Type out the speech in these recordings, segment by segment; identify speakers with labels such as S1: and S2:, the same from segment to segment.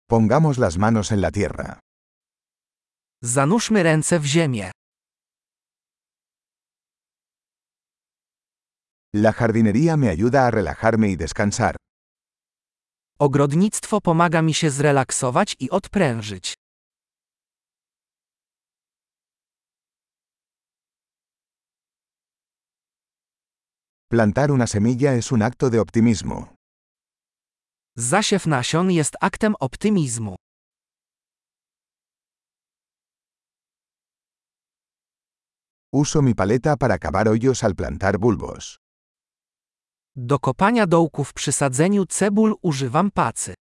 S1: Pongamos las manos en la tierra.
S2: Zanurzmy ręce w ziemię.
S1: La jardinería me ayuda a relajarme y descansar.
S2: Ogrodnictwo pomaga mi się zrelaksować i odprężyć.
S1: Plantar una semilla es un acto de optimismo.
S2: Zasiew nasion jest aktem optymizmu.
S1: Uso mi paleta para cavar hoyos al plantar bulbos.
S2: Do kopania dołków przy sadzeniu cebul używam pacy.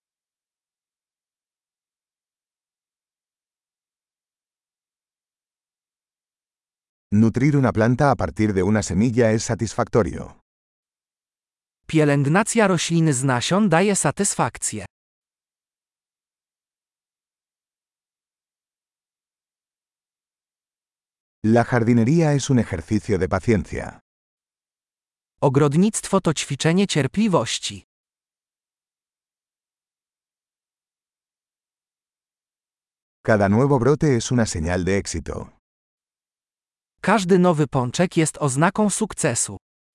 S1: Nutrir una planta a partir de una semilla es satisfactorio.
S2: Pielęgnacja rośliny z nasion daje satysfakcję.
S1: La jardinería es un ejercicio de paciencia.
S2: Ogrodnictwo to ćwiczenie cierpliwości.
S1: Cada nuevo brote es una señal de éxito.
S2: Każdy nowy pączek jest oznaką sukcesu.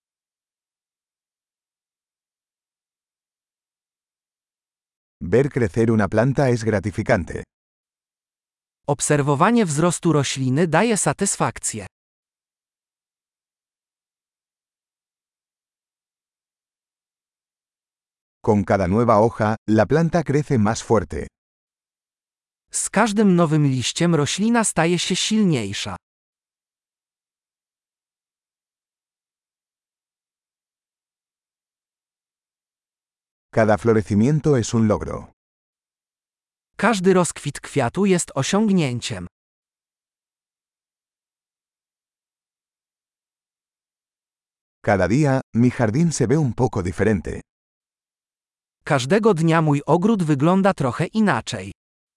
S1: Ver crecer una planta es gratificante.
S2: Obserwowanie wzrostu rośliny daje satysfakcję.
S1: Con cada nueva hoja, la planta crece más fuerte.
S2: Z każdym nowym liściem roślina staje się silniejsza.
S1: Cada florecimiento es un logro.
S2: Każdy rozkwit kwiatu jest osiągnięciem.
S1: Cada día, mi jardín se ve un poco diferente.
S2: Każdego dnia mój ogród wygląda trochę inaczej.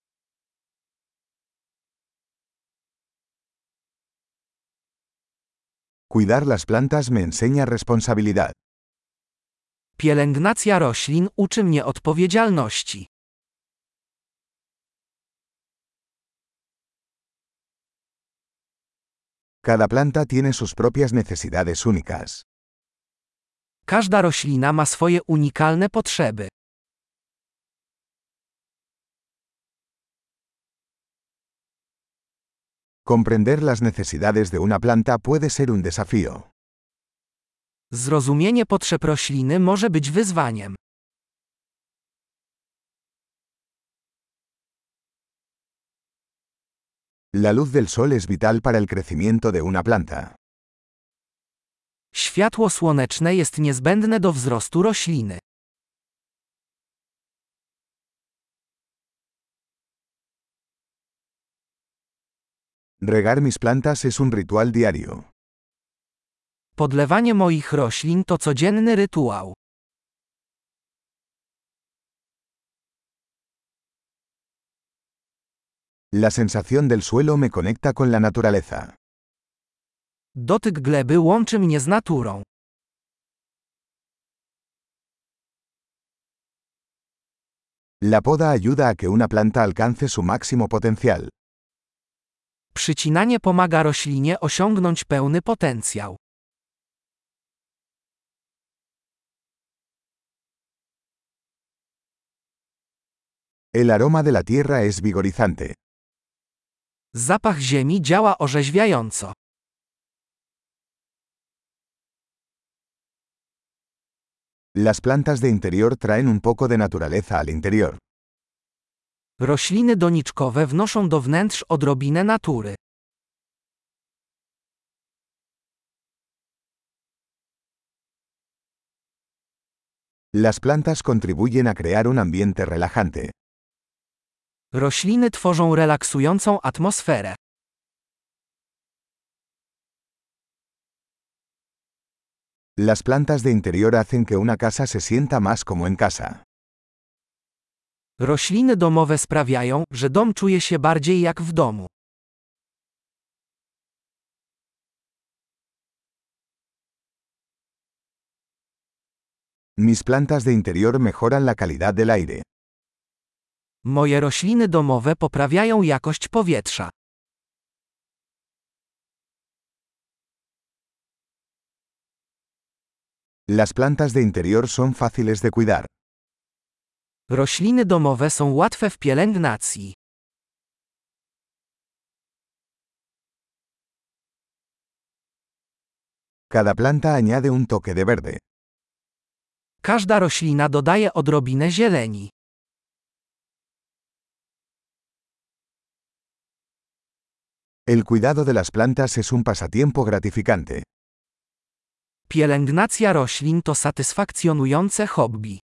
S1: Cuidar las plantas me enseña responsabilidad.
S2: Pielęgnacja roślin uczy mnie odpowiedzialności.
S1: Cada planta tiene sus propias necesidades únicas.
S2: Każda roślina ma swoje unikalne potrzeby.
S1: Comprender las necesidades de una planta puede ser un desafío.
S2: Zrozumienie potrzeb rośliny może być wyzwaniem.
S1: La luz del sol es vital para el crecimiento de una planta.
S2: Światło słoneczne jest niezbędne do wzrostu rośliny.
S1: Regar mis plantas es un ritual diario.
S2: Podlewanie moich roślin to codzienny rytuał.
S1: La sensación del suelo me conecta con la naturaleza.
S2: Dotyk gleby łączy mnie z naturą.
S1: La poda ayuda a que una planta alcance su máximo potencial.
S2: Przycinanie pomaga roślinie osiągnąć pełny potencjał.
S1: El aroma de la tierra es vigorizante.
S2: Zapach ziemi działa orzeźwiająco.
S1: Las plantas de interior traen un poco de naturaleza al interior.
S2: Rośliny doniczkowe wnoszą do wnętrz odrobinę natury.
S1: Las plantas contribuyen a crear un ambiente relajante.
S2: Rośliny tworzą relaksującą atmosferę.
S1: Las plantas de interior hacen que una casa se sienta más como en casa.
S2: Rośliny domowe sprawiają, że dom czuje się bardziej jak w domu.
S1: Mis plantas de interior mejoran la calidad del aire.
S2: Moje rośliny domowe poprawiają jakość powietrza.
S1: Las plantas de interior son fáciles de cuidar.
S2: Rośliny domowe są łatwe w pielęgnacji.
S1: Cada planta añade un toque de verde.
S2: Każda roślina dodaje odrobinę zieleni.
S1: El cuidado de las plantas es un pasatiempo gratificante.
S2: Pielęgnacja roślin to satysfakcjonujące hobby.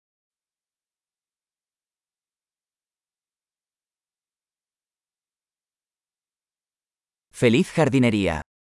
S3: ¡Feliz jardinería!